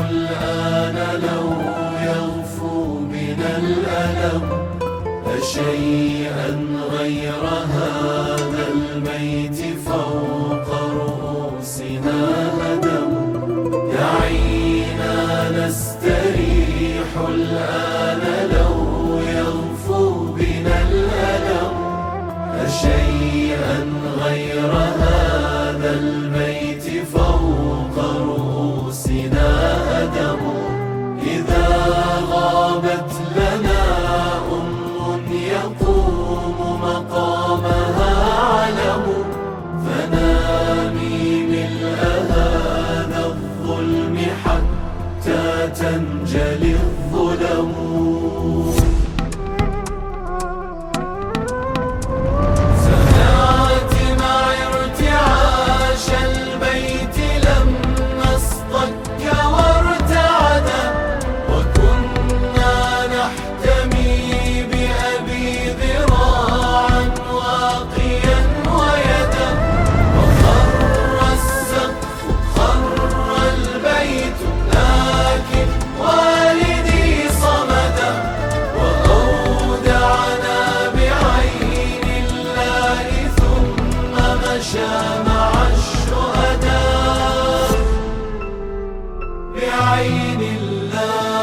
الآن لو يغفو بنا الألم أشيئا غير هذا الميت فوق رؤوسنا هدم. دعينا نستريح الآن لو يغفو بنا الألم أشيئا غير هذا الميت فوق رؤوسنا هدم. إذا غابت لنا يقوم مقامها علم فنامي ملء هذا الظلم حتى تنجلي الظلم. سمعت معي ارتعاش البيت لما اصطك وارتعد وكنا نحتمي مع الشهداء بعين الله.